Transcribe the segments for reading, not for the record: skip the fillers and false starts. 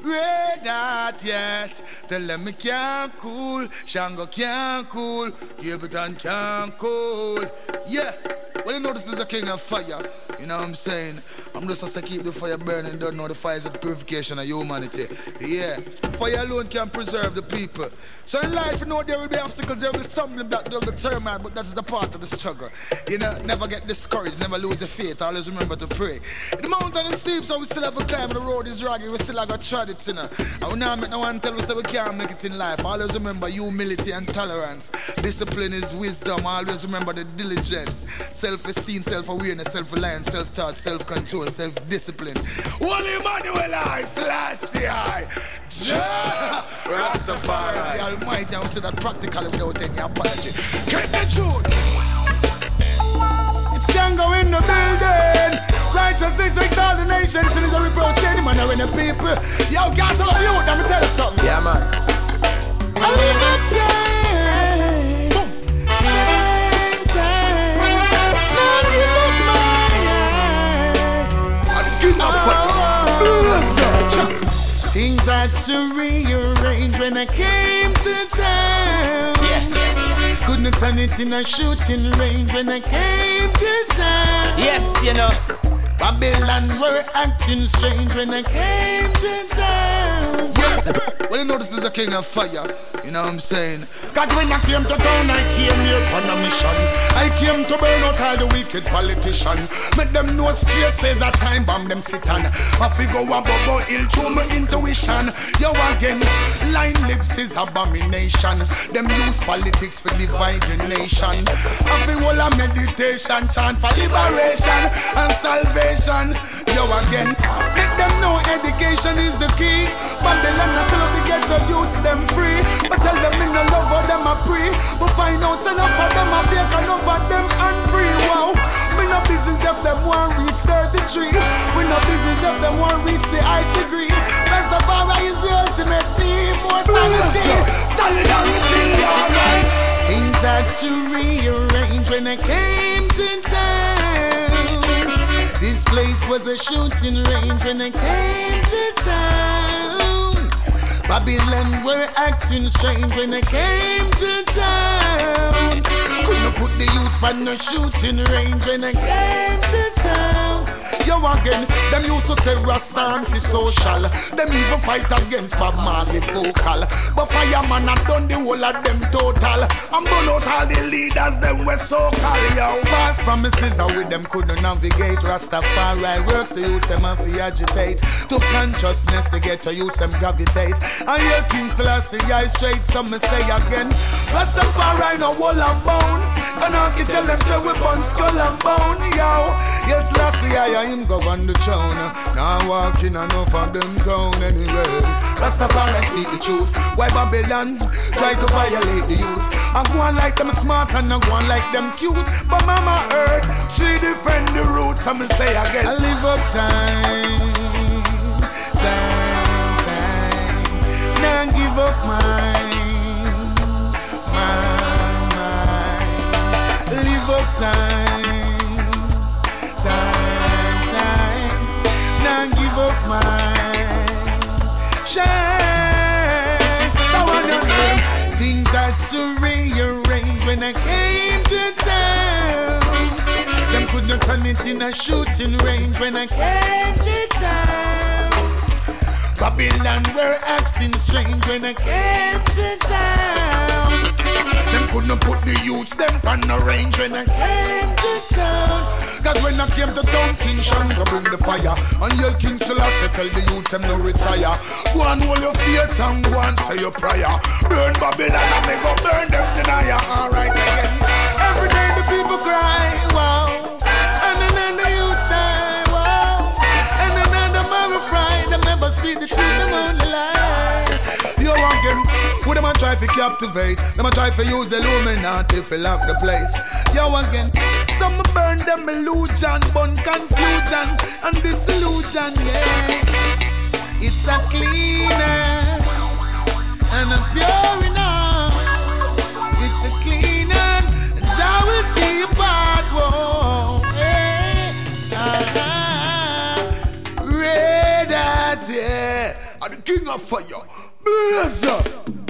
Red Hot, yes. Tell them me can't cool, Shango can't cool, Gaviton can't cool. Yeah, well you know this is a king of fire. You know what I'm saying? I'm just to keep the fire burning, don't know the fire is the purification of humanity. Yeah, fire alone can preserve the people. So in life, you know, there will be obstacles, there will be stumbling block, there will be turmoil, but that is a part of the struggle. You know, never get discouraged, never lose your faith, always remember to pray. The mountain is steep, so we still have a climb, the road is rugged, we still have a tread it, you know. And we now make no one tell us that we can't make it in life. Always remember humility and tolerance. Discipline is wisdom, always remember the diligence. Self-esteem, self-awareness, self-reliance, self-thought, self-control, self-discipline. Holy Emmanuel, I, Selassie, I, Jah Rastafari, the Almighty. I will say that practically without any apology. Get the truth. It's Django in the building. Righteousness like all the nations. Sin is a reproach any man or any people. Yo, guys, I love you. Let me tell you something. Yeah, man. I live up time. Now give up my eye. Things had to rearrange when I came to town. Couldn't turn it in a shooting range when I came to town. Yes, you know. Babylon were acting strange when I came to town. Yeah, well you know this is a king of fire. You know what I'm saying? Cause when I came to town, I came here on a mission. I came to burn out all the wicked politicians. Make them know straight says a time bomb them sit on. I figure a bubble ill through my intuition. Yo again, line lips is abomination. Them use politics for divide the nation. I feel all a meditation chant for liberation and salvation. Yo again, make them know education is the key. Babylon I sell out the ghetto youths them free. But tell them in no love of them I pray. But find out enough of them I fake, enough of them unfree. Wow, me no business if them want reach 33. We no business if them want reach the highest degree. Rastafari is the ultimate team. More sanity, solidarity, alright. Things had to rearrange when I came to town. This place was a shooting range when I came to town. Babylon were acting strange when I came to town. Couldn't put the youths on no shooting range when I came to town. Yo again, them used to say Rasta anti-social. Them even fight against Bob Marley vocal. But Fireman had done the whole of them total. And burn out all the leaders, them were so call. Yo, past promises how with them couldn't navigate. Rastafari works, the youths them have to agitate. To consciousness, the ghetto youths them gravitate. And your King Selassie, I straight, some me say again. Rastafari no wall and bone. And I can tell them say we burn skull and bone. Yo, yes, Selassie, I am go on the throne. Now walking enough of them zone anyway. Rastafari speak the truth. Why Babylon try to violate the youth? I go on like them smart and I go on like them cute. But Mama Earth, she defend the roots. I'm gonna say again, I live up time. Now give up mine. Live up time. Give up mine, shine. Now on your name, things had to rearrange when I came to town. Them couldn't turn it in a shooting range when I came to town. Babylon were acting strange when I came to town. Them couldn't put the youths them on the range when I came to town. Cause when I came to town, King Shango bring the fire. And your King Selassie tell the youths them no retire. Go and hold your faith and go and say your prayer. Burn Babylon and they go burn them denier. Alright again. Every day the people cry, wow. And then the youths die, wow. And then the marrow fry. Them never speak the truth, them only lie. Yo again, who them a try to captivate? Them a try to use the Illuminati to lock the place. Yo again, some burn them illusion, burn confusion and disillusion, yeah. It's a cleaner and a pure enough. It's a cleaner, Jah will see you part, whoa, yeah. Red Hot, yeah. I'm the king King of Fire. Blaze up.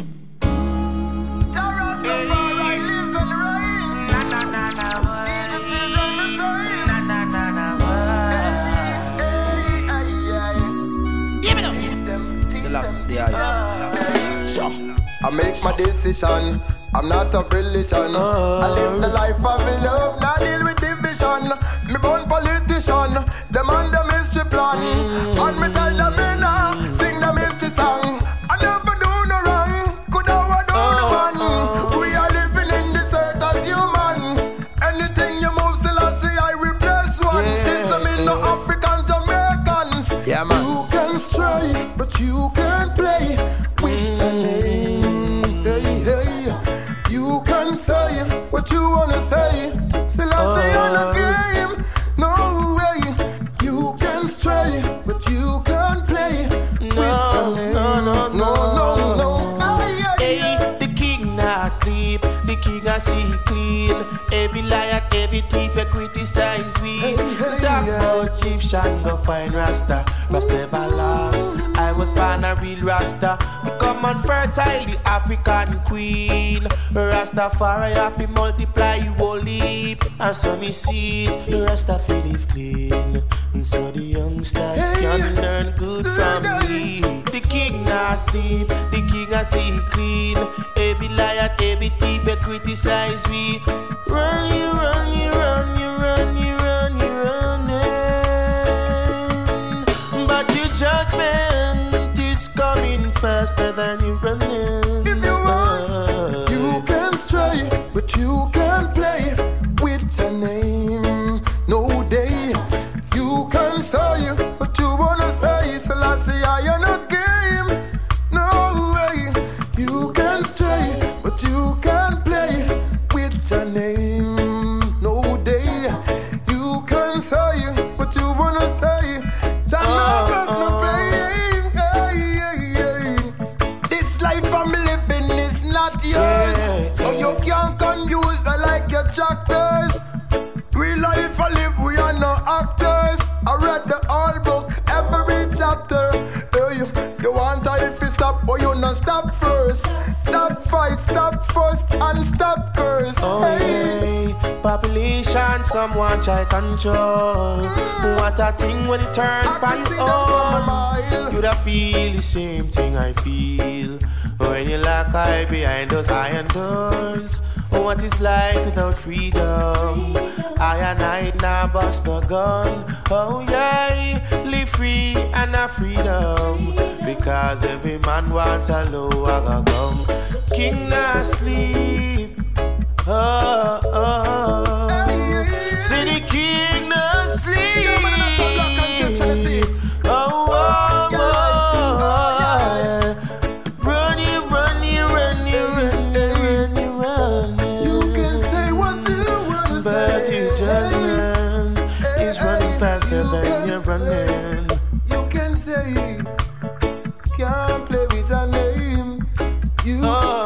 I make my decision. I'm not a religion. I live the life of love, not deal with division. Me born politician, them on the mystery plan. And me tell them me now, sing the mystery song. I never do no wrong, could I do no one. We are living in this earth as human. Anything you move, still I see I replace one. This I mean no African Jamaicans. Yeah, man. You can stray, but you can't play with your name. Hey, hey. You can say what you wanna say. Still I say on a game. No way. You can stray, but you can't play with your name. No. Hey, the king not sleep. The king I see clean. Every liar, every thief, you criticize we. Talk about Egyptian, go find Rasta. Rasta never lost. I was born a real Rasta. Become unfertile, the African queen. Rastafari have to multiply you whole heap. And so me see the Rasta feel live clean. And so the youngsters can learn good from me. The king not sleep, the king I see clean. Every liar, every thief, you criticize we. Run, you run, you run, you run, you run, you running. But your judgment is coming faster than you running. If you want, you can stray, but you can't play with your name. No day, you can say what you wanna say. So I say I am a game. No way, you can stray, but you can't play with your name. No day, you can say what you wanna say. Jamaica's not playing. This life I'm living is not yours, so you can't confuse I like your tractors. Real life I live, we are no actors. I read the whole book, every chapter. Hey, you want if you stop, but you not stop first. Stop fight, stop fuss, and stop curse. Hey, population, someone try control. What a thing when it turn by you on. You da feel the same thing I feel when you lock eye behind those iron doors. What is life without freedom? I and I nah bust no gun. Oh yeah, live free and a freedom. Because every man wants a lower gum. King not sleep. Oh. See the king not sleep. Oh. Run. You can say what you wanna say. But your judgment is running faster than you're running. You can say, can't play with your name. You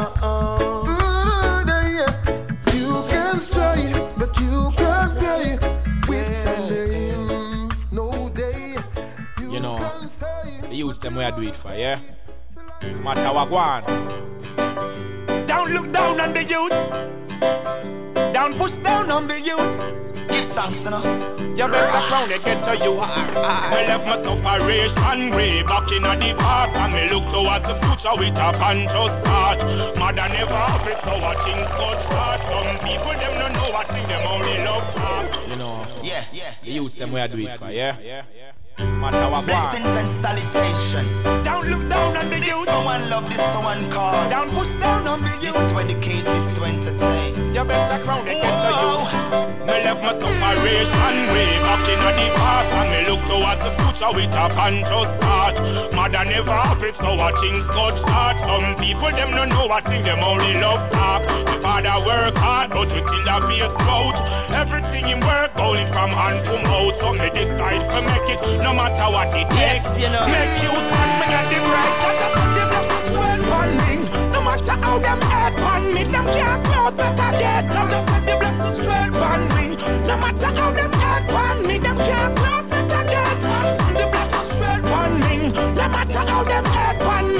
can stray, but you can't play with your name. No day. You know, the youths them where I do it for, yeah? Matter what go on. Don't look down on the youths. Don't push down on the youths. Give thanks, you know. You better crown it, get to you. I left my sufferation way back in the past, and me look towards the future with a conscious heart. Mother never happy, so what things got hard. Some people them don't know what thing them only love heart. You know, the youths them where I do it for, yeah? Matter what blessings and salutation. Don't look down on the youth. This one love, this one cause. Don't push down on the youth. This to educate, this to entertain. You better crown it, get to you. Me left my sufferation way back in the past, and me look towards the future with a conscious heart. Mother never happy, so what things got hard. Some people them don't know what thing them only love talk. The father work hard, but we still have face out. Everything in work going from hand to mouth. So me decide to make it, no matter what it takes. You know. Make you stand, me get the bright. Just on the blessings dwell on me. No matter how them hate on me, them can't close better get. Just on the blessings dwell on me. No matter how them hate on me, them can't close better get. The blessings dwell on me. No matter how them hate on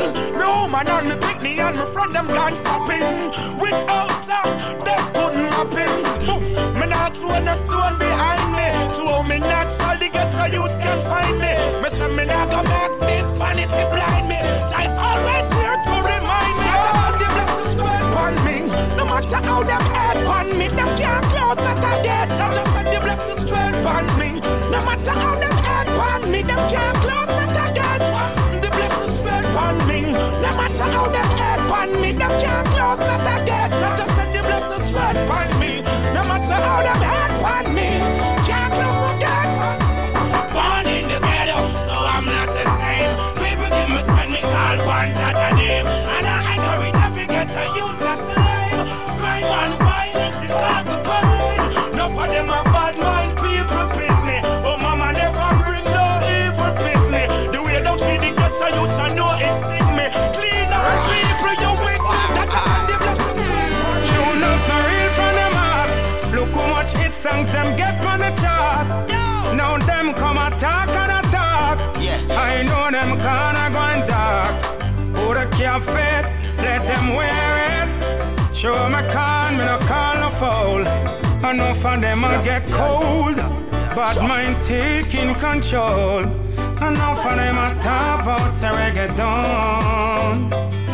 No man on me pick me and me front them can't stop him. Without that couldn't happen. Me not throw no stone behind me. To how me natural the ghetto youth can find me. Me say me not go back this vanity blind me. Just always there to remind me. Just on the blessings straight on me. No matter how them head on me, them can't close not a gate. Just on the blessings straight on me. No matter how them head on me, them can't close not a gate. The blessings straight on me. No matter how them head on me, them can't close not a gate. Just on the blessings straight on me. No matter how them head on me, can't close the gate. Born in the ghetto, so I'm not the same. People give me spend me call one judge a name. And I encourage every ghetto use the same. Crime and violence, it cause the pain. Enough of them are bad mind people pick me. Oh mama never bring no evil pick me. The way don't see the ghetto youth I know it's sick me. Clean up people you with. That just send the blessings straight. Sure enough, no real from them heart. Look how much hit songs them get on the chart. Now them come attack and attack. I know them gonna go and dark. Who the can't fit, let them wear it. Show me can, me no call no foul. Enough of them will get cold. Bad mind taking control. Enough of them a talk about say reggaeton.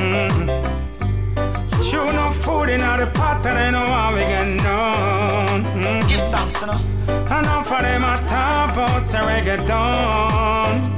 Show no food in the pot and they know how we get known. Give thanks, you know. Enough of them a talk about say reggaeton.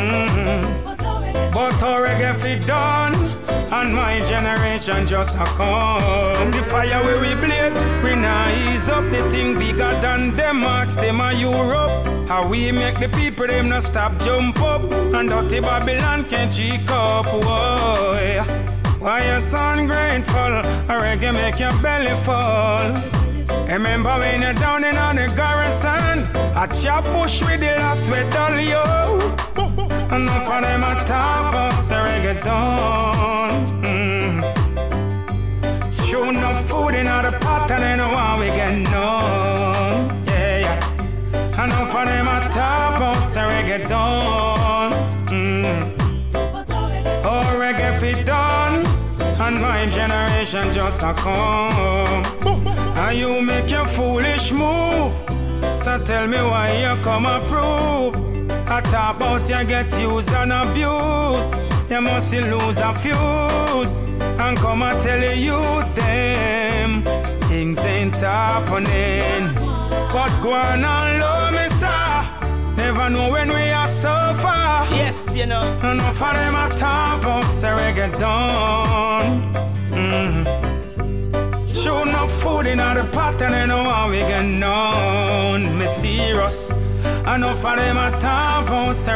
But how reggae fit done, and my generation just a come. The fire where we blaze, we now ease up. The thing bigger than them marks, them a Europe. How we make the people them not stop jump up, and dirty Babylon can't cheek up. Whoa. Why you so ungrateful? A reggae make your belly fall. Remember when you're down in on the garrison, a chop push with the last with all yo. Enough of them a talk about the reggaeton. Show no food in the pot and they know how we get known. Yeah. Enough of them a talk about the reggaeton. Oh, reggae fit done, and my generation just a come. And you make your foolish move, so tell me why you come approve. I talk about you get used and abused. You must lose a fuse, and come and tell you them things ain't happening. But go on and love me, sir. Never know when we are so far. Yes, you know. Enough of them a talk about the reggaeton. Show no food in the pot and they know how we get known. Me serious. Enough of them a talk about the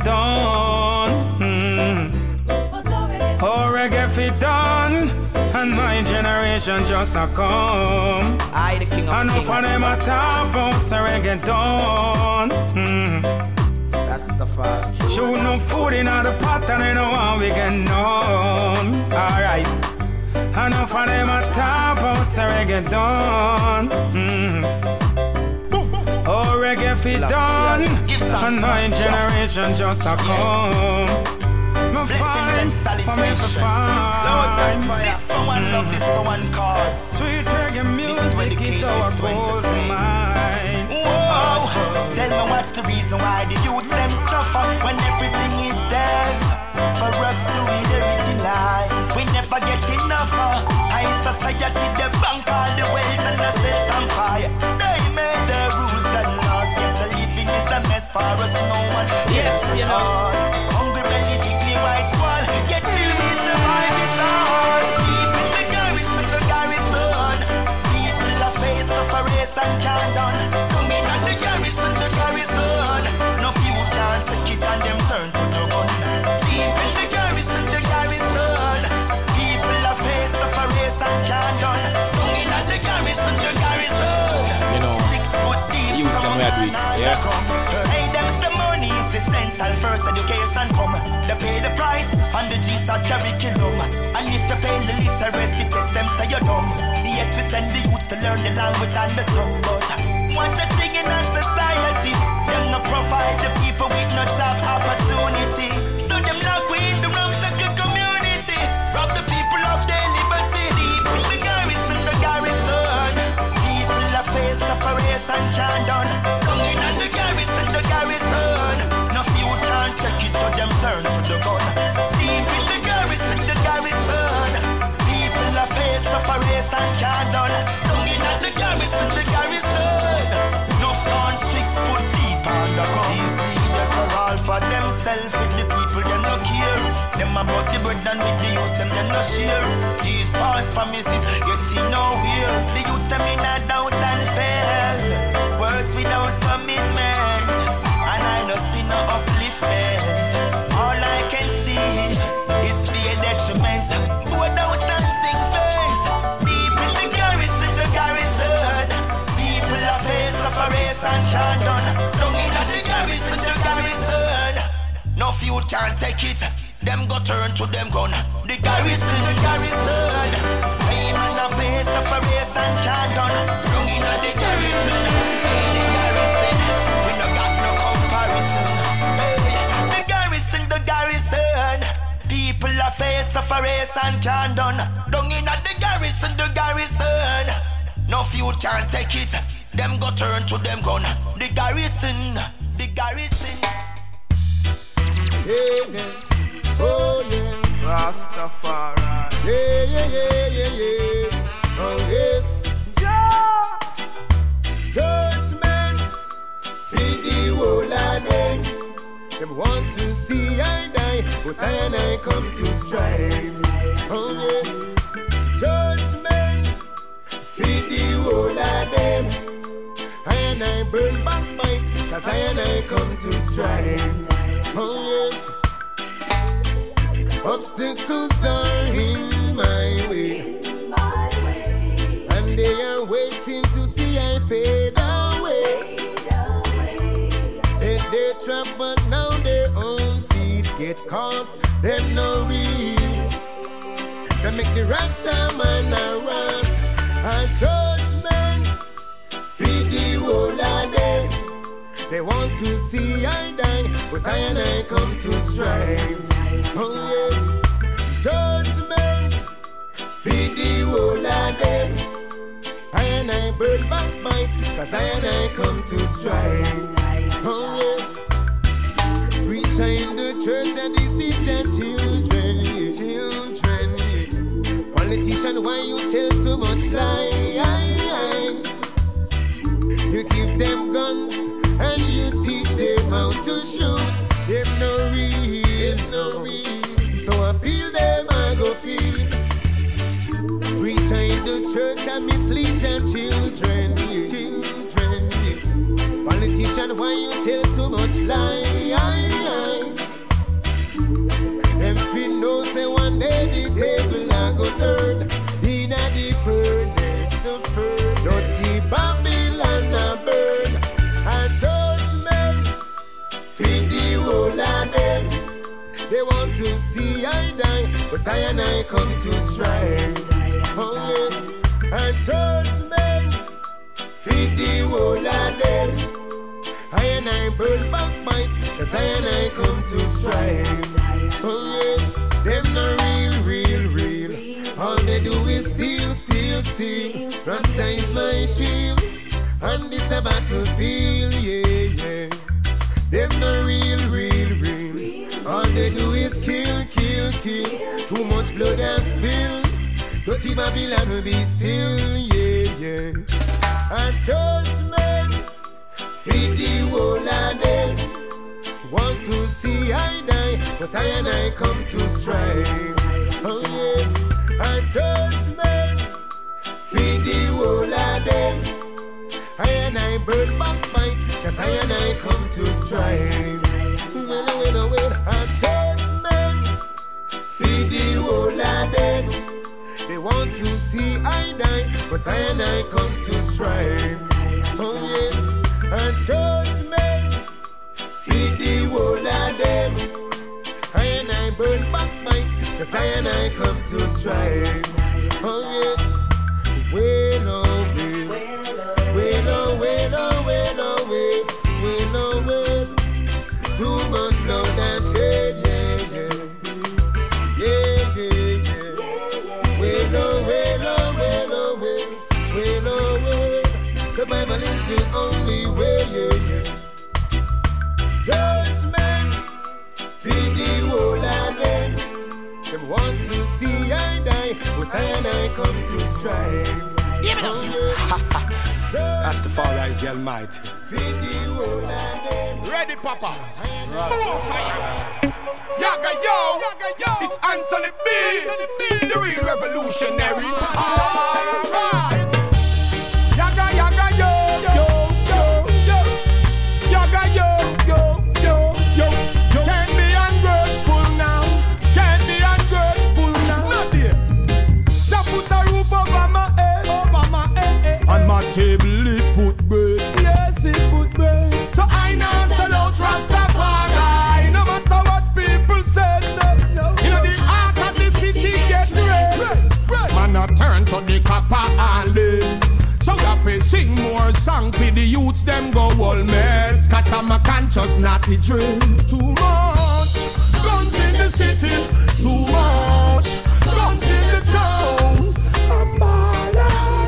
reggaeton. Oh, reggae fit done, and my generation just a come. I, the king of enough kings. of them a talk about the reggaeton. Rastafari. Show no food in the pot and they know how we get known. Alright. Enough of them a talk about the reggaeton. Oh, reggae fit done, and my generation just a come. Blessings and salutation. Lord, this someone love, this someone cause. Sweet reggae music is our gold mine. Whoa, tell me what's the reason why the youths them suffer when everything is there for us to read everything life. We never get enough. High society, the bank all the wealth and the sales on fire. They made the rules and laws. Get a living is a mess for us, no one. Yes, you know. Hungry belly, dignity, white squall. Yet still we survive, it's hard. People the garrison, the garrison. People are face of a race and can't done. Coming at the garrison, the garrison. No few can't take it and them turn to the gun. People the garrison, the garrison. People are face of a race and can't done. Coming at the garrison, the garrison. You know, 6 foot deep, use them where we, yeah. Hey, them some money is essential. First education come. They pay the price on the GSAT curriculum. And if you fail the literacy test, them say you're dumb. Yet we send the youths to learn the language and the song. But what a thing in our society. Them not provide the people with no job opportunity. So them lock we in the wrong second community. Candon. Down in the garrison, no few can't take it, so them turn to the gun. Deep in the garrison, people are face of a race and Candon. Down in the garrison, no front 6 foot deep on the ground. These leaders are all for themselves, with the people them no care. Them about the bread and with the youths them no share. These false promises getting nowhere. The youths them in a doubt and fear. Words without commitment, and I no see no upliftment. All I can see is the detriment. Go down and sing fence. People in the garrison, people are face of a race and Candon. Down in the garrison, no few can't take it. Them go turn to them gun. The garrison, hey man, a face of a race and Candon. Down in the garrison, say the garrison, we no got no comparison. Hey, the garrison, people a face of a race and Candon. Down in the garrison, no few can't take it. Them go turn to them gun. The garrison. Yeah. Oh yeah, Rastafari. Yeah. Oh yes, yeah. Judgment, feed the whole of them. Them want to see I die, but I and I come to strive. Oh yes, judgment, feed the whole of them. I and I burn backbite, cause I and I come to strive. Oh yes. Obstacles are in my way, and they are waiting to see I fade away. Said they're trapped, but now their own feet get caught. Them no real. They make the Rasta man a rant. A judgment, feed the whole of them. They want to see I die, but I and I come to strive. Oh yes, judgment, feed the whole of them. I and I burn backbite, cause I and I come to strive. Oh yes, preacher in the church and deceive your children. Politician, why you tell so much lie? You give them guns and you teach them how to shoot. Them no real. So I feel them, I go feed. Preacher in the church and mislead your children. Politician, why you tell so much lie? Them fin know say one day the table I go turn in a the furnace. Dirty Babylon a burn. A judgment, feed the whole of them. They want to see I die, but I and I come to strive. Oh yes, a judgment, feed the whole of them. I and I burn backbite, cause I and I come to strive. Oh yes, them no real. All they do is steal. Rasta is my shield, and this a battlefield, yeah. Them no real. All they do is kill. Too much blood has spilled. Dirty Babylon will be still, yeah. A judgment, feed the whole of them. Want to see I die, but I and I come to strive. Oh yes, a judgment, feed the whole of them. I and I burn backbite, cause I and I come to strive. Well, a judgment, feed the whole of them. They want to see I die, but I and I come to strive. Oh yes, a judgment, feed the whole of them. I and I burn backbite, cause I and I come to strive. Oh yes, well, too much blood and shed, Survival is the only way. come to strive. Rastafari is the Almighty. Ready, Papa? Yaga yo, it's Anthony B, the real revolutionary. Alright. Yaga yo, yaga yo. Can't be ungrateful now. Not there. Just put a roof over my head. On my table it put bread. Yes, it put bread. So I now sell out Rastafari. No matter what people said, no. You know the heart of the city get red. Man, I turn to the copper and live. So we have to sing more songs for the youths, them go all mess. Cause I'm a conscious naughty drill. Too much guns in the city. Too much guns in the town. I'm ballin'.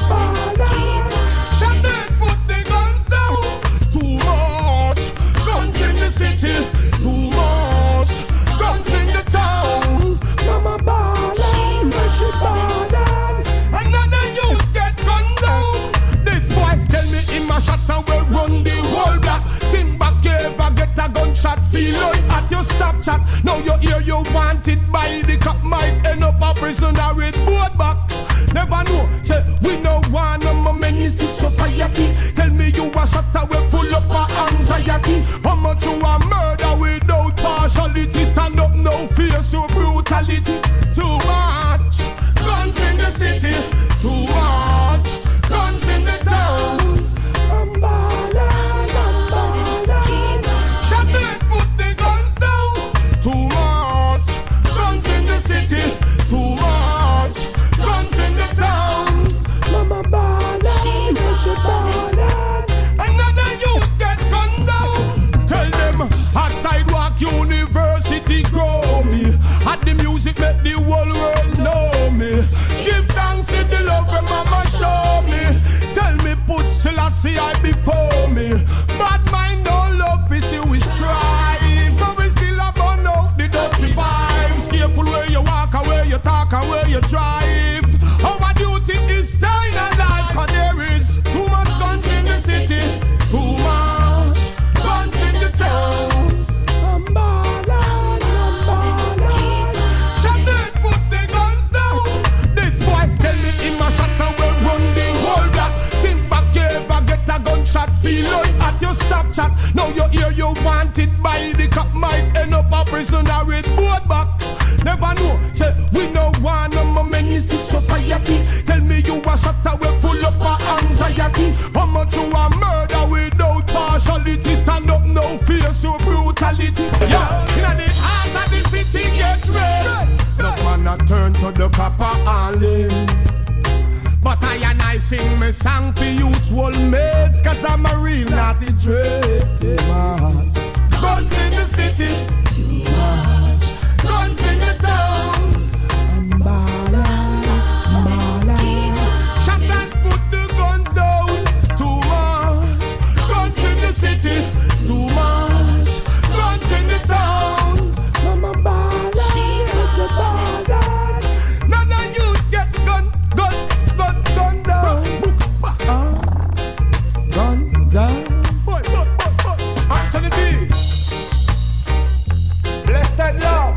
Shut it, put the guns down. Too much guns in the city. Too much guns in the town. Mama ballin', she ballin'. Another youth get gunned down. This boy tell me him a shot and will run the whole block. Think back you ever get a gunshot. Feel like at your stop chat. Now you hear you wanted by the cop. Might end up a prisoner with both box. Never know, say we no want no more menace to society. Tell me you a shot away full up of anxiety. How much you a murder without partiality. Stand up, no fear, so brutality. Too much guns in the city. Too much guns in the town. I'm ballin'. Shut it, put the guns down. Too much guns in the city. Too much guns in the town. Mama ballin', she ballin'. Another youth get gunned down. Tell them at Sidewalk University grow me. At the music make the whole world know me. Give thanks to the love when mama show me. Tell me put Selassie I before me. Bad mind no love is you we strive. But we still have burn out the dirty vibes. Careful where you walk and where you talk and where you drive. Our duty is staying alive. Cause there is too much guns in the city. Too much guns in the town. I'm ballin'. Shut it, put the guns down. This boy tell me him a shot and will run the whole block. Think back you ever get a gunshot. Feel like at your stop chat. Now you hear you wanted by the cop. Might end up a prisoner with both box. Never know, say we no want no more menace to society. Tell me you a shot away full up of anxiety. How much you a murder without partiality. Stand up, no fear, so brutality. Yeah, in the heart of the city get red. No man a turn to the copper and live. But I and I sing me song for youths whole mates. Cause I'm a real naughty dread. Guns in the city. Too much guns in the town. I'm ballin'. Shatters put the guns down. Too much guns in the city. Too much guns in the town. Mama ballin'. She ballin'. None of you get gun down. Gun down. Anthony B. Blessed love.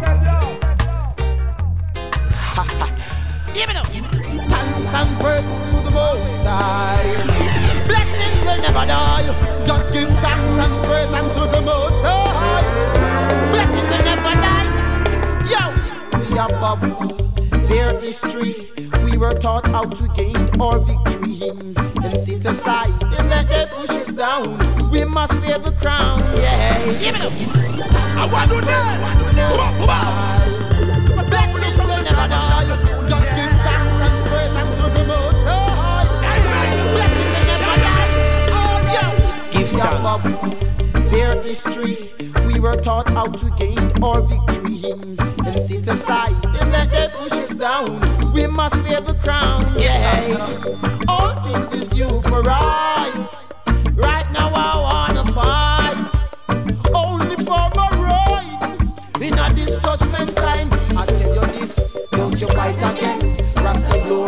Give it up. Thanks and praises to the Most High. Blessings will never die. Just give thanks and praise unto the Most High. Blessings will never die. Yo, we above their history. We were taught how to gain our victory. And sit aside and let them push us down. We must wear the crown. Yeah, give it up. I want to know. Blessings will never die. Just give thanks and praise unto the Most High. Blessings will never die. Give thanks. Their history, we were taught how to gain our victory. And sit aside and let them push us down. We must wear the crown. Yeah, all things is due for right. Right now I wanna fight only for my rights. In a this judgment time, I tell you this, don't you fight against Rasta blow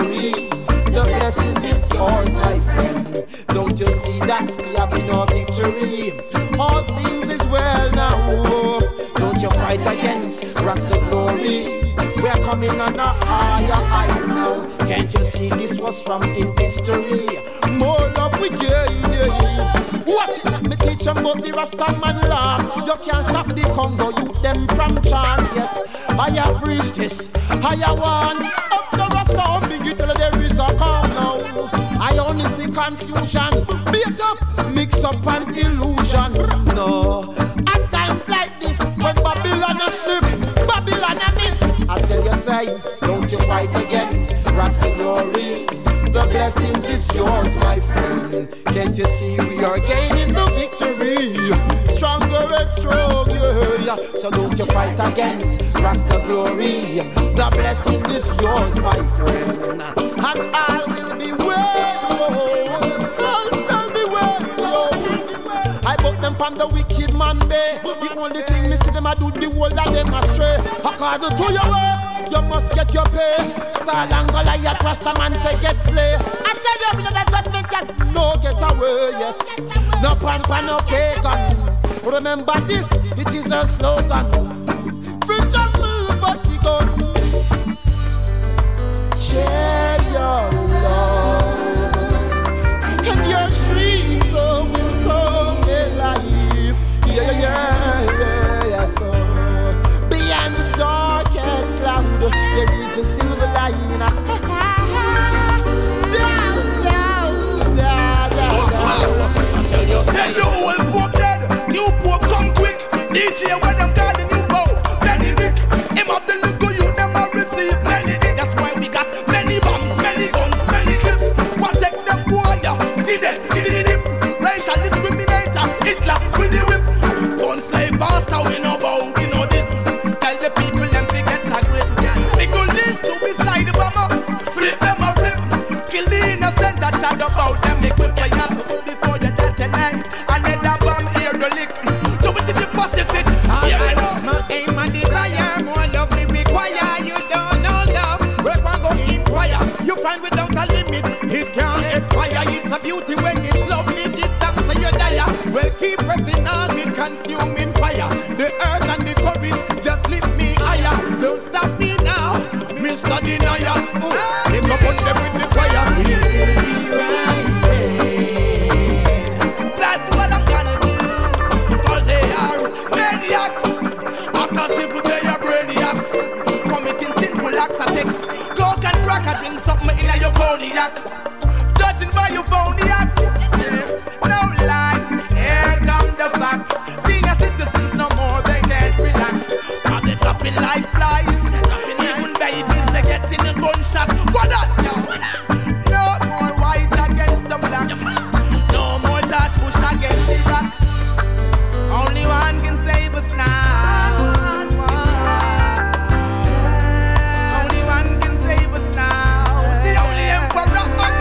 victory. All things is well now. Don't you fight against Rasta glory. We are coming on a higher heights now. Can't you see this was from in history? More love we gain. Watch it, let me teach them about the Rasta man law. You can't stop the Congo youth them from chance. Yes, I have reached this. I have won. Up the Rasta on me, tell there is a calm now. I only see confusion, beat up, mix up an illusion. No, at times like this, when Babylon a slip, Babylon a miss. I tell you, say, don't you fight against Rasta glory. The blessings is yours, my friend. Can't you see we are gaining the victory? Stronger and stronger. So don't you fight against Rasta glory. The blessing is yours, my friend. And all will be well. All shall be well. I put them from the wicked man bay. The only thing me see them I do the whole of them astray. According to your work, you must get your pay. Saul and Goliath, Rasta man say get slay. I tell you, that judgment can no get away. Yes, no pan, no pagan. Remember this, it is a slogan. Free jungle, but he gun. Share your love, and your dreams will come alive. Yeah. So beyond the darkest cloud, there is a silver line. Then the old pope dead, new pope come quick. Each year when them call the new pope, Benedict. Him up the look you, them all receive Benedict. That's why we got many bombs, many guns, many clips. Protect them boy, yeah. Skinny dip, racial discriminator, Hitler with the whip. Don't slave bastard, we no bow, we no dip. Tell the people them to get a grip. They go live to beside the bomber, flip them a flip. Kill the innocent, that child about them, make them play up before you dead tonight. Another bomb here to lick. So we did the Pacific. My aim and desire, more love we require. You don't know love, we're gonna go inquire. You find without a limit, it can't expire. It's a beauty when it's love, live it down so you die. Well, keep pressing on with consuming fire. The earth and the courage just lift me higher. Don't stop me now, Mr. Denier. Pick up on them with the fire. That's what I'm gonna do. Cause they are maniacs. After simple they are brainiacs. Committing sinful acts I take coke and crack and drink something in your cognac. Judging by your phony acts. No lie, here come the facts. Senior citizens no more, they can't relax. Now they're dropping like flies. Even babies they getting a gunshot. What that? No more white against the black. No more Josh Bush against the rock. Only one can save us now. Only one can save us now. The only emperor.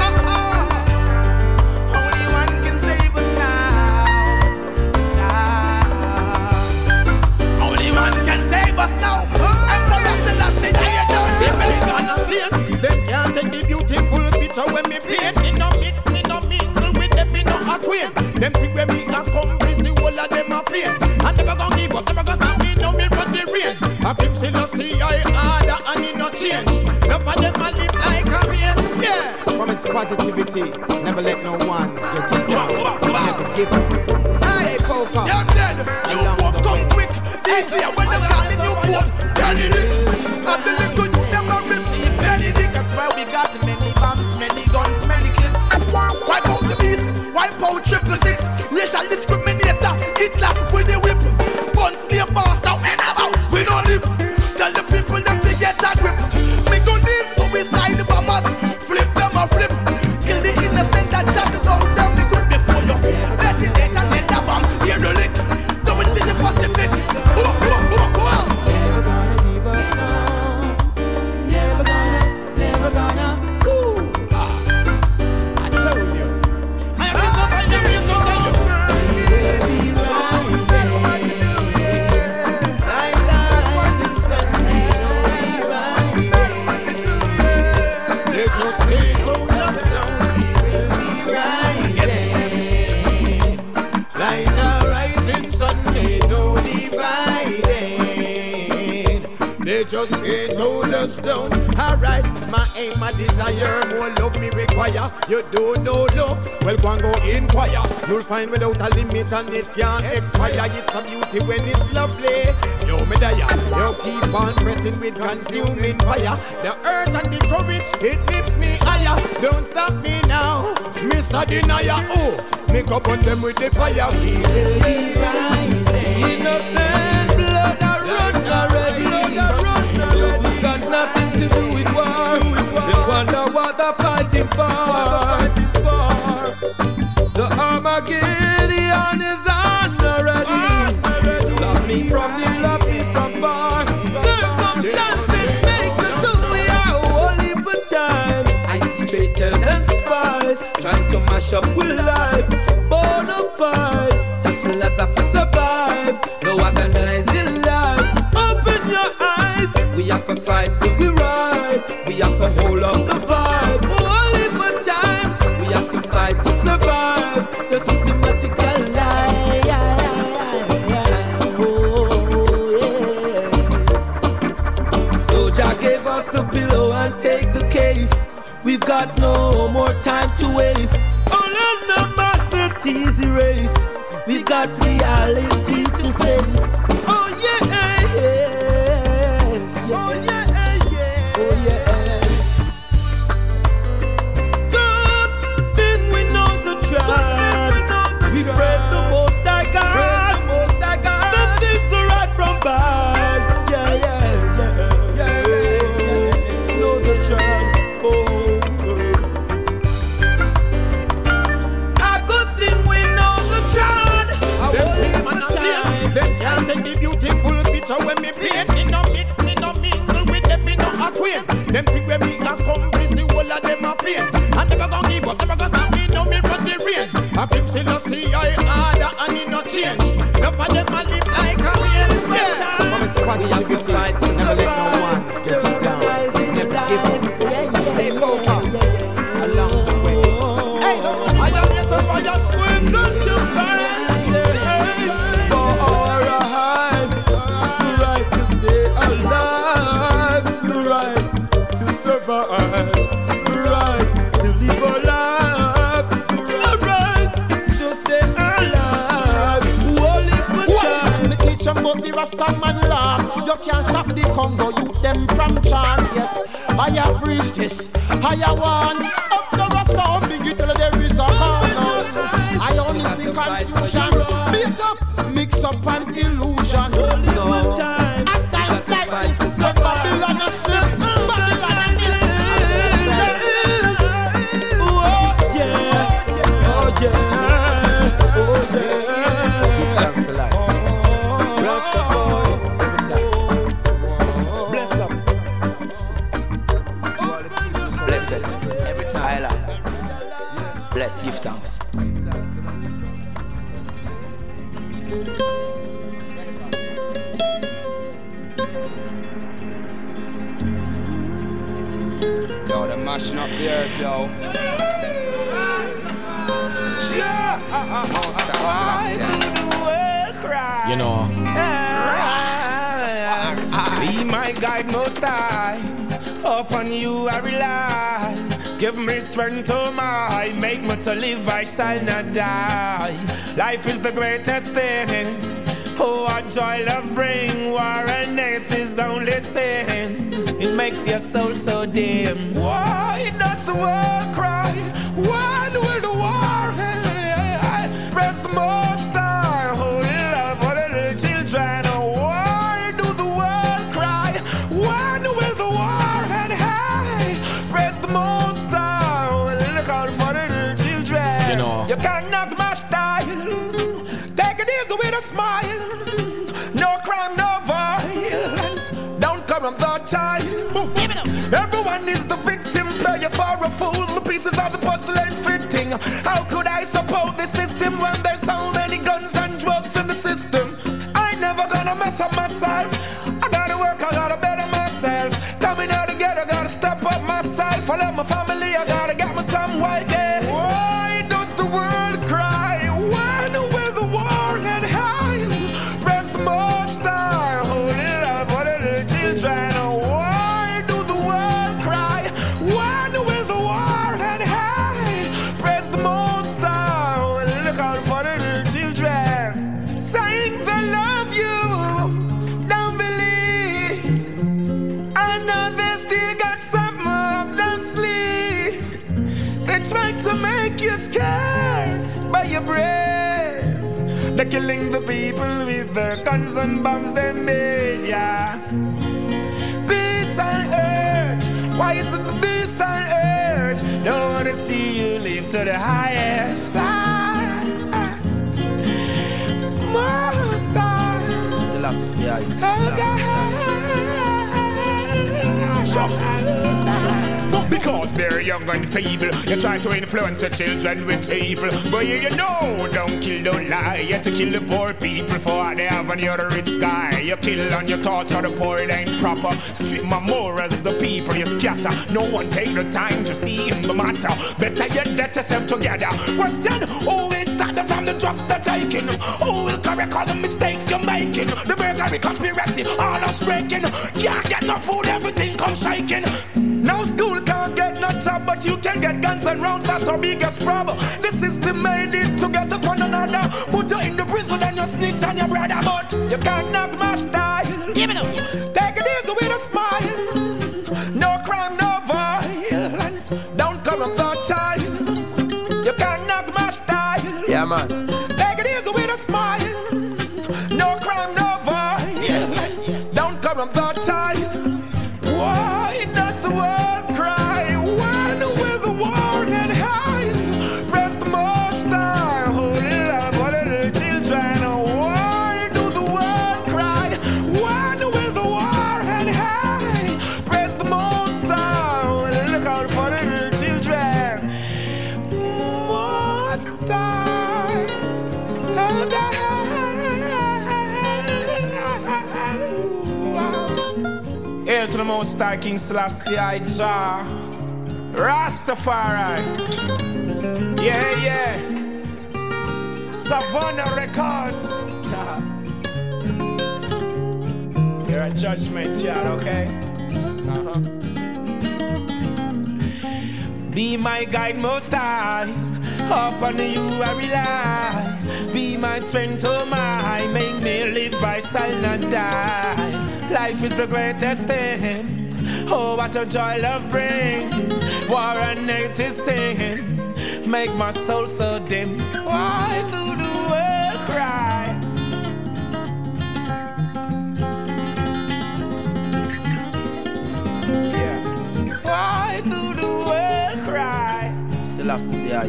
Only one can save us now. Only one can save us now. Emperor Selassie, you don't see me gonna see it. Them can't take the beautiful picture when me paint. Me no mix, me no mingle with them, me no acquaint. Them think when me accomplish the whole of them a fail. I never gon' give up, never gon' stop me, no me run the range. I keep Selassie, I order and it no change. Enough of them a live like a man, yeah. From its positivity, never let no one get you down. Never give up. Stay focused. You're dead. You won't come quick. DJ when you call the new pope, Benedict. After the good, you never receive Benedict. That's why we got many bombs, many guns, many clips. Wipe out the beast, wipe out 666. Racial discriminator, Hitler with the whip. Guns, slave master, and about we no live. Tell the people them to get a grip. We go this so we side the bombers, flip them or flip. Kill the innocent that shot out them the grip before you. Let it later, let the bomb hear the lick. Do it in the Pacific. Never gonna give up now. Never gonna. I told you. I am so just can't hold us down. Alright, my aim, my desire, more love me require. You don't know love, well go and go inquire. You'll find without a limit and it can't expire. It's a beauty when it's lovely. Yo, me die, you keep on pressing with consuming fire. The urge and the courage, it lifts me higher. Don't stop me now, Mr. Denier. Oh, make up on them with the fire. We will be rising. Innocent blood a run already. We got nothing to do with war. They wonder what they're fighting for. The Armageddon is on already. Love me from the love me from far. Circumstances make us who we are. Only for time. I see traitors and spies trying to mash up with life. Bonafide, hustlers have to survive. No organizing life. Open your eyes. We have to fight for we ride. We have to hold up the vibe. Only for time. We have to fight to survive. The systematical lie. So Jah gave us the pillow and take the case. We've got no more time to waste. All animosities erase. We've got reality to face. Oh yes, oh yes, oh yes. Good thing we know the tribe. We pray the Most High God. The things are right from bad. Yeah. Know the tribe. So when me paint, me no mix, me no mingle with them, me no acquaint. Them think when me accomplish the whole of them a faint. I never gon' give up, never gon' stop me, no me run the range. I keep still no see I harder and it no change. Enough of them a live like a man. Yeah. From its quasi and good fight, never let no one get you down. Never give up. Stay focused along the way. Hey, I am here so fire. We're going to fight. The right to live alive, the right to stay alive. Only for time. Me teach them about the Rasta man law. You can't stop the Congo, youth them from chance. Yes, I have reached this, I have won. Up the Rasta, big it till there is a corner. I only see confusion. Beat up, mix up an illusion. Only for time. At times like this, the Babylon is slip. Bless, give thanks. Yo, they're mashing up the earth, yo. You know, be my guide, Most High. Upon you I rely. Give me strength, oh my. Make me to live, I shall not die. Life is the greatest thing. Oh, what joy love bring. War and hate is only sin. It makes your soul so dim. Why does the world cry? When will the war end? Press the Most High. Holy love for the little children. Why do the world cry? When will the war end? Press the Most High. Look out for the little children. You know, you can't knock my style. Take it easy with a smile. No crime, no violence. Don't corrupt the child. Everyone is the victim. Play you for a fool. The pieces of the puzzle ain't fitting. How could I support the system when there's so many guns and drugs in the system? I never gonna mess up myself. I gotta work, I gotta better myself. Coming out together, gotta step up myself. I love my family, I gotta get me some white day. Why does the world cry? When will the war end high? Press the Most High. Holy love for the little children. killing the people with their guns and bombs they made, yeah. Peace on earth, why is it the peace on earth? Don't wanna see you live to the highest. Most oh God. Because they're young and feeble, you try to influence the children with evil. But you know, don't kill, don't lie. You have to kill the poor people for what they have on your rich guy. You kill and you torture the poor, it ain't proper. Strip my morals, the people you scatter. No one take the time to see in the matter. Better you get yourself together. Question, who will start from the drugs they're taking? Who will correct all the mistakes you're making? The burglary conspiracy, all us breaking. Can't get no food, everything comes shaking. No school can't get no job, but you can get guns and rounds, that's our biggest problem. The system made it to get up one another. Put you in the prison and you snitch on your brother. But you can't knock my style. Give it up. Take it easy with a smile. No crime, no violence. Don't corrupt the child. You can't knock my style. Yeah, man. Take it easy with a smile. No crime, no violence. Don't corrupt the child. Why does the world cry? When will the war end high? Press the most high. Oh, little children. Why do the world cry? When will the war end high? Press the most high. Look out for little children. Most high. Oh, God. Hail to the Most High King Selassie I Jah Rastafari. Yeah, yeah. Savannah Records. You're a judgment yard, okay? Be my guide, Most High. Upon you I rely. Be my strength, oh my. Make me live, I shall not die. Life is the greatest thing. Oh, what a joy love bring. War and hate is sin. Make my soul so dim. Why do the world cry? Yeah. Why do the world cry? Selassie I.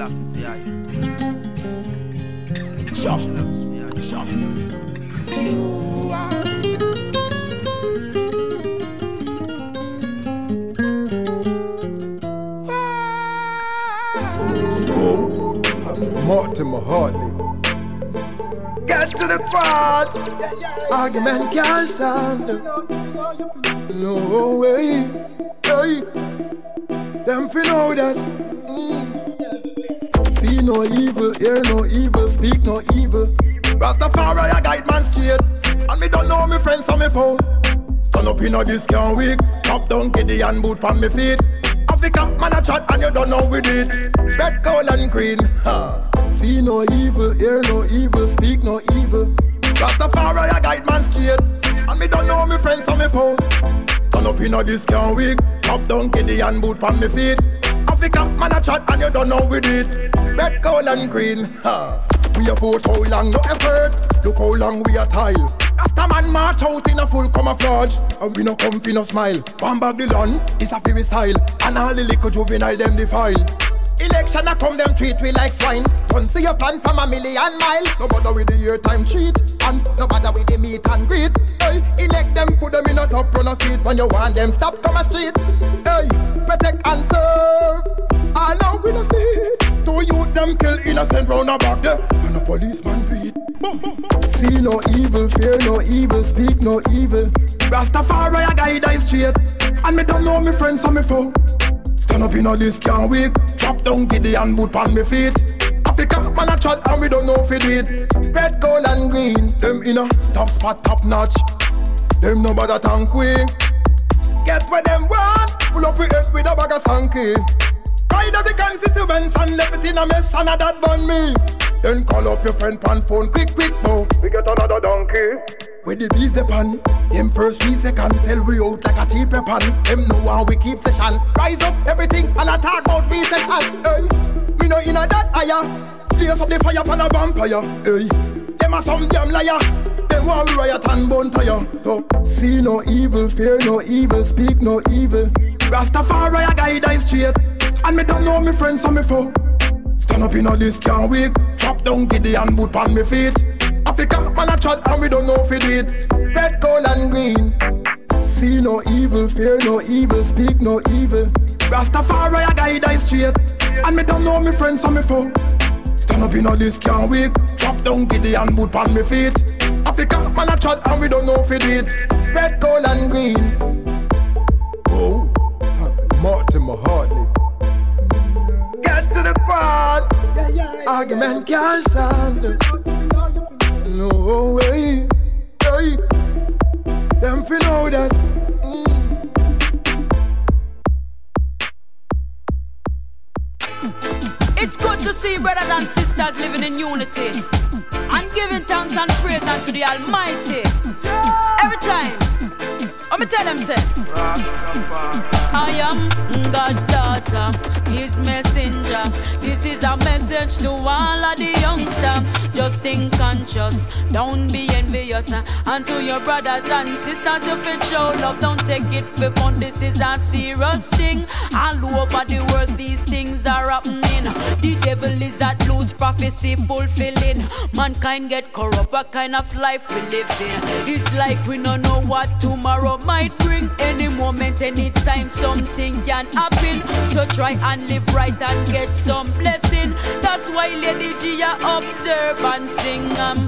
Sure. Mortimer Hartley. Get to the front. Argument can't stand. No way. Hey. Them feel know that. See no evil, hear no evil, speak no evil. Rastafari a guide man straight. And me don't know me friends on me phone. Stand up in a discount week. Top down kiddy and boot on me feet. Africa man a chat and you don't know we did. Red, gold and green. Ha. See no evil, hear no evil, speak no evil. Rastafari a guide man straight. And me don't know me friends on me phone. Stand up in a discount week. Top down kiddy and boot on me feet. Africa man a chat and you don't know we did. Red, gold and green. Ha. We have fought how long, no effort. Look how long we are tile. Rasta man march out in a full camouflage. And we no come fi no smile. One bag the land, is a fi we style. And all the little juvenile them defile. Election a come them treat we like swine. Don't see your plan from a million mile. No bother with the year time cheat. And no bother with the meet and greet. Hey, elect them, put them in a top run a seat. When you want them, stop come a street. Hey, protect and serve. All out we no see. Two youth them kill innocent round a back there. And a policeman beat. See no evil, fear no evil, speak no evil. Rastafari a guide I straight. And me don't know me friends on me phone. Stand up in a discount week. Chop down giddy and boot on me feet. Africa man a chat and we don't know if it do it. Red, gold and green. Them in a top spot, top notch. Them no bother tank we. Get where them want. Pull up with head with a bag of sanky. Ride up the constituents and left it in a mess and a that bun me. Then call up your friend pan phone quick bow. We get another donkey. Where the bees the pan. Them first 3 seconds sell we out like a cheap pan. Them know how we keep session. Rise up everything and I talk about recession. Hey, me no inna that higher. Blaze up the fire pan a vampire. Hey, Them are some damn liar. Them want riot and bone tire. So see no evil, fear no evil, speak no evil. Rastafari a guide I straight. And me don't know me friends so me foe. Stand up in all this can't wait. Chop down Gideon boot on me feet. Africa man a chat and we don't know if we do it. Red, gold and green. See no evil, fear no evil, speak no evil. Rastafari a guide I straight. And me don't know me friends so me foe. Stand up in all this can't wait. Chop down Gideon boot on me feet. Africa man a chat and we don't know if we do it. Red, gold and green. Oh, Mortimer Hartley. Get to the quad. Argument can't stand. No way. Hey. Them fi know that. It's good to see brothers and sisters living in unity and giving thanks and praise unto the Almighty. Every time, let me tell them, say, I am God's daughter, His messenger. This is a message to all of the youngsters. Just think conscious, don't be envious. And to your brothers and sisters, if it show love, don't take it for fun. This is a serious thing. All over the world, these things are happening. The devil is at loose, prophecy fulfilling. Mankind get corrupt, what kind of life we live in? It's like we don't know what tomorrow might bring. Any moment, anytime, something can happen. So try and live right and get some blessing. That's why Lady G observe and sing.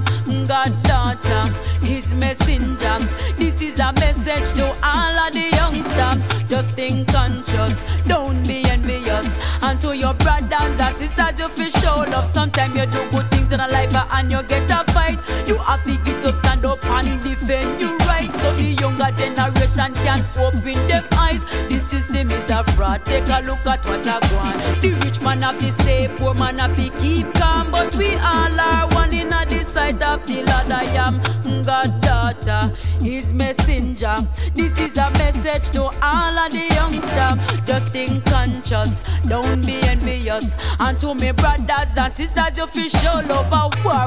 God daughter, His messenger. This is a message to all of the youngsters. Just think conscious, don't be envious. And to your brothers and sisters, you feel show love. Sometimes you do good things in a life and you get a fight. You have to get up, stand up and defend your rights. So the younger generation can open their eyes. The system is a fraud, take a look at what I want. The rich man have to say, poor man have to keep calm. But we all are one in the sight of the Lord. I am God's daughter, His messenger. This is a message to all of the youngsters. Just think conscious, don't be envious. And to me brothers and sisters, you feel show love. War,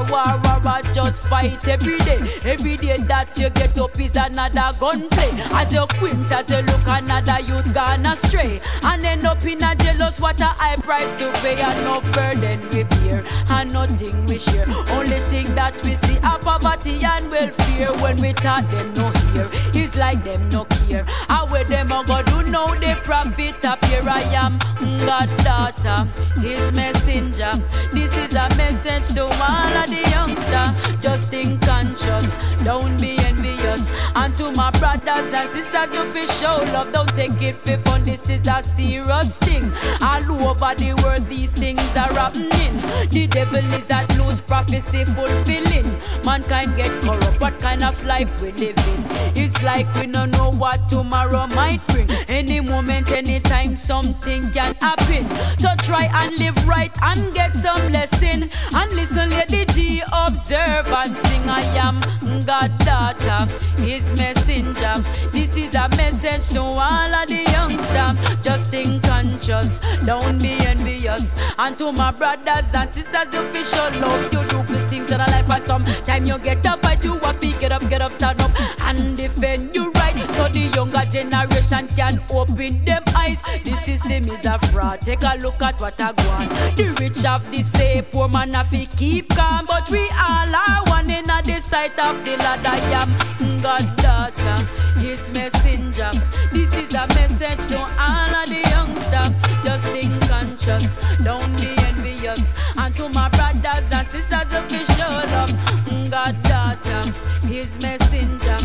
just fight every day. Every day that you get up is another gunplay. As you quint, as you look, another youth gone astray. And end up in a jealous, what a high price to pay. Enough burden we bear, and nothing we share. Only thing that we see are poverty and welfare. When we talk them no hear, it's like them no care. And where them a go do know they profit up here. I am God's daughter, His messenger. This is a message to all of the youngsters. Just think conscious, don't be envious. And to my brothers and sisters, you feel show love, don't take it for fun. This is a serious thing. All over the world, these things are happening. The devil is at loose, prophecy fulfilling. Mankind get corrupt, what kind of life we live in? It's like we don't know what tomorrow might bring. Any moment, anytime, something can happen. So try and live right and get some lesson. And listen, Lady G, observe and sing. I am God's daughter, His messenger. This is a message to all of the youngsters. Just think conscious, don't be envious. And to my brothers and sisters, you feel show love. You do good things in a life, and sometime you get a fight. You have to get up, stand up and defend your right. So the younger generation can open them eyes. The system is a fraud, take a look at what I want. The rich have the say, poor man have to keep calm. But we all are one in the sight of the Lord. I am God's daughter, His messenger. This is a message to all of the youngsters. Just think conscious, don't be envious. And to my brothers and sisters, if you show love, God's daughter, His messenger.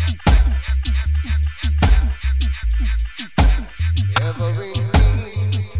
Every need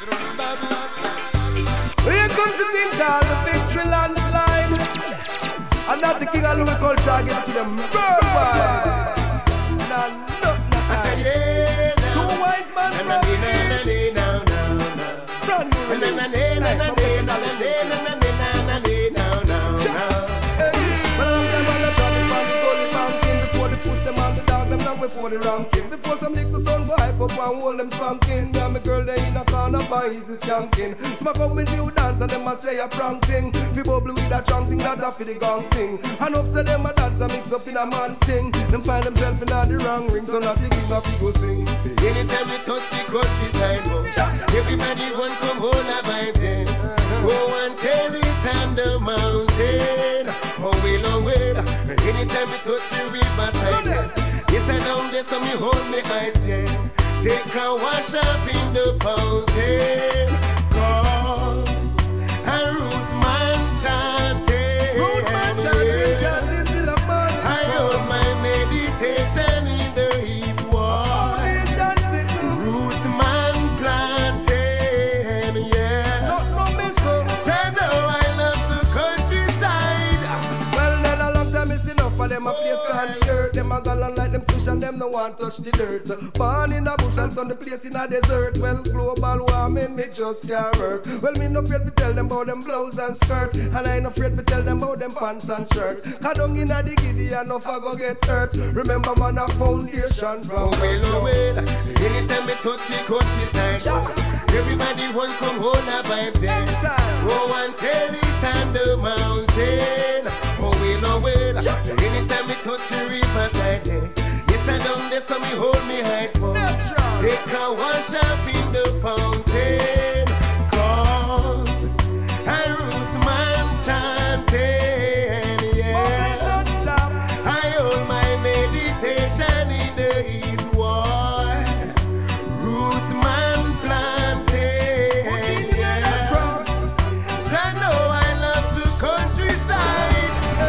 Here comes the thing called the victory landslide. And not the king of Louis culture, give it to them worldwide. I said, yeah, two wise men from the east. Brand new before the ranking, before some little son go hype up and hold them spanking. Me and my girl they in a corner by easy skanking. Smack up with new dance and them a say a prank thing. Fi bubble with a chunk thing that a fi the gang thing. Enough say them a dance and mix up in a man thing. Them find themselves in a the wrong ring, so not the king of fi go sing. Anytime we touch the countryside, everybody want come hold a vibe dance. Go and tell it on the mountain. Oh well, anytime we touch the riverside, yes, I down there, so me hold me eyes, yeah. Take a wash up in the fountain. Cause a roots man chanting. Root man chanting, chanting still a man. I hold my meditation in the east wall. Roots man planting, yeah. Not no miss up. I know I love the countryside. Well, then a long time is enough for them a place called the earth. Them a gallon like them fish and them no want touch the dirt. Born in a bush and turn the place in a desert. Well, global warming me just can't work. Well, me no afraid to tell them about them blouse and skirt. And I ain't afraid to tell them about them pants and shirt. Cause down in a the giddy and no I go get hurt. Remember man a foundation from well, anytime we touch the countryside, everybody want come hold a vibe there. Go and tell it on the mountain. Oh well, anytime we touch the riverside, yes I down there so me hold me height for. Take a wash up in the fountain. Cause a roots man chanting, yeah. I hold my meditation in the east wall. Roots man planting, yeah. I know I love the countryside.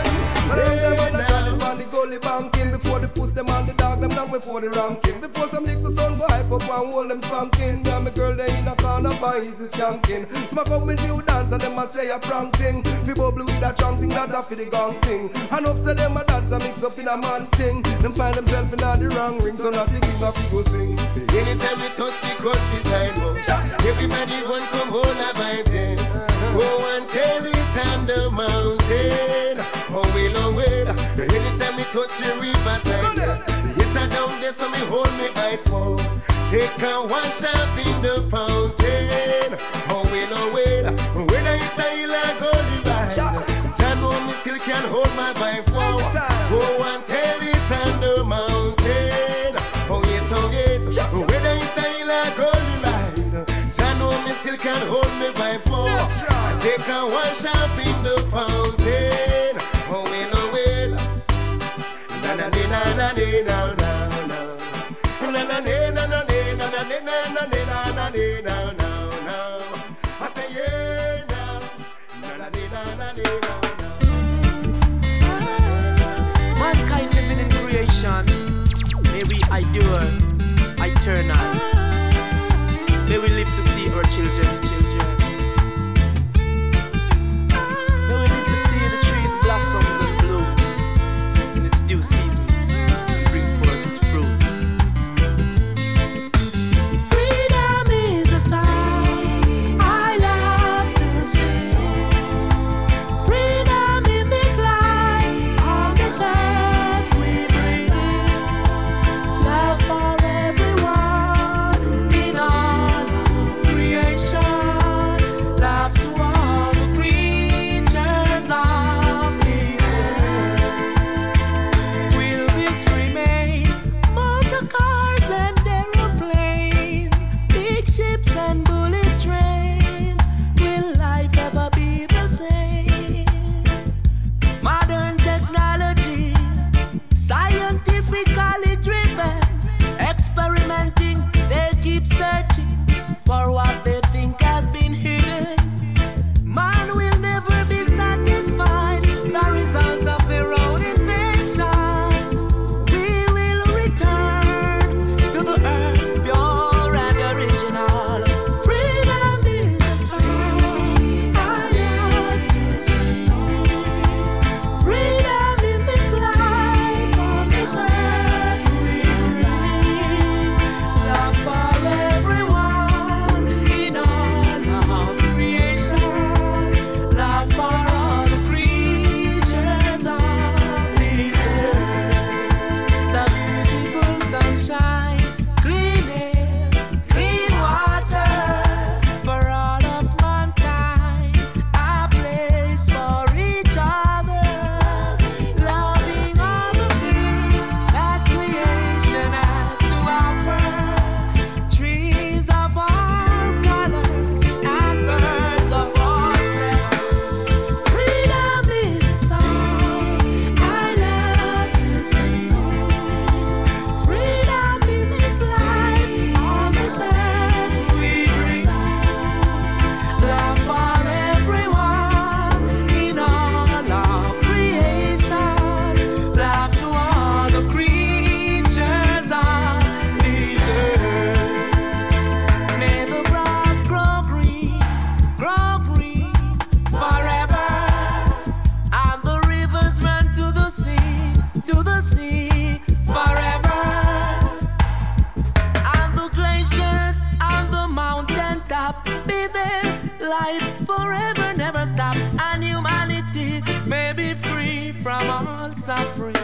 Banking before they push them on the dog, them down before the ranking. Before some little son go hype up and hold them spanking. Me and my girl they in a corner by easy skanking. Smack up with new dance and them a say a prank thing. Fi bubble with a chunk thing that a fi the gang thing. Enough say them a dance and mix up in a man thing. Them find themselves in a the wrong ring, so not the king of fi go sing. Anytime we touch the countryside, everybody want come hold a vibe dance. Go and tell it on the mountain. Oh well, anytime we touch the riverside, yes I down there so me hold me eyes for. Take a wash up in the fountain. Oh well, whether it's a hill or golden ride, John know me still can hold my vibe for. Go and tell it on the mountain. Oh yes, whether it's a hill or golden ride, John know me still can hold me vibe for. Take a wash up in the fountain. Oh well, na na na na na na na na na na. I say yeah now, na na na na. Mankind living in creation, may we endure eternal. May we live to see our children's children. May we live to see the trees blossom and bloom in its due seasons and bring forth its fruit. Freedom is the song I love to sing. Freedom in this life, on this earth we bring. Love for everyone in all of creation. Love to all the creatures of this earth. Will this remain? Motor cars and aeroplanes, big ships and bullet trains. Will life ever be the same? Modern technology, scientifically driven, experimenting, they keep searching for what they think has been hidden. Man will never be satisfied, the result of their own inventions. We will return to the earth, pure and original. may be free from all suffering.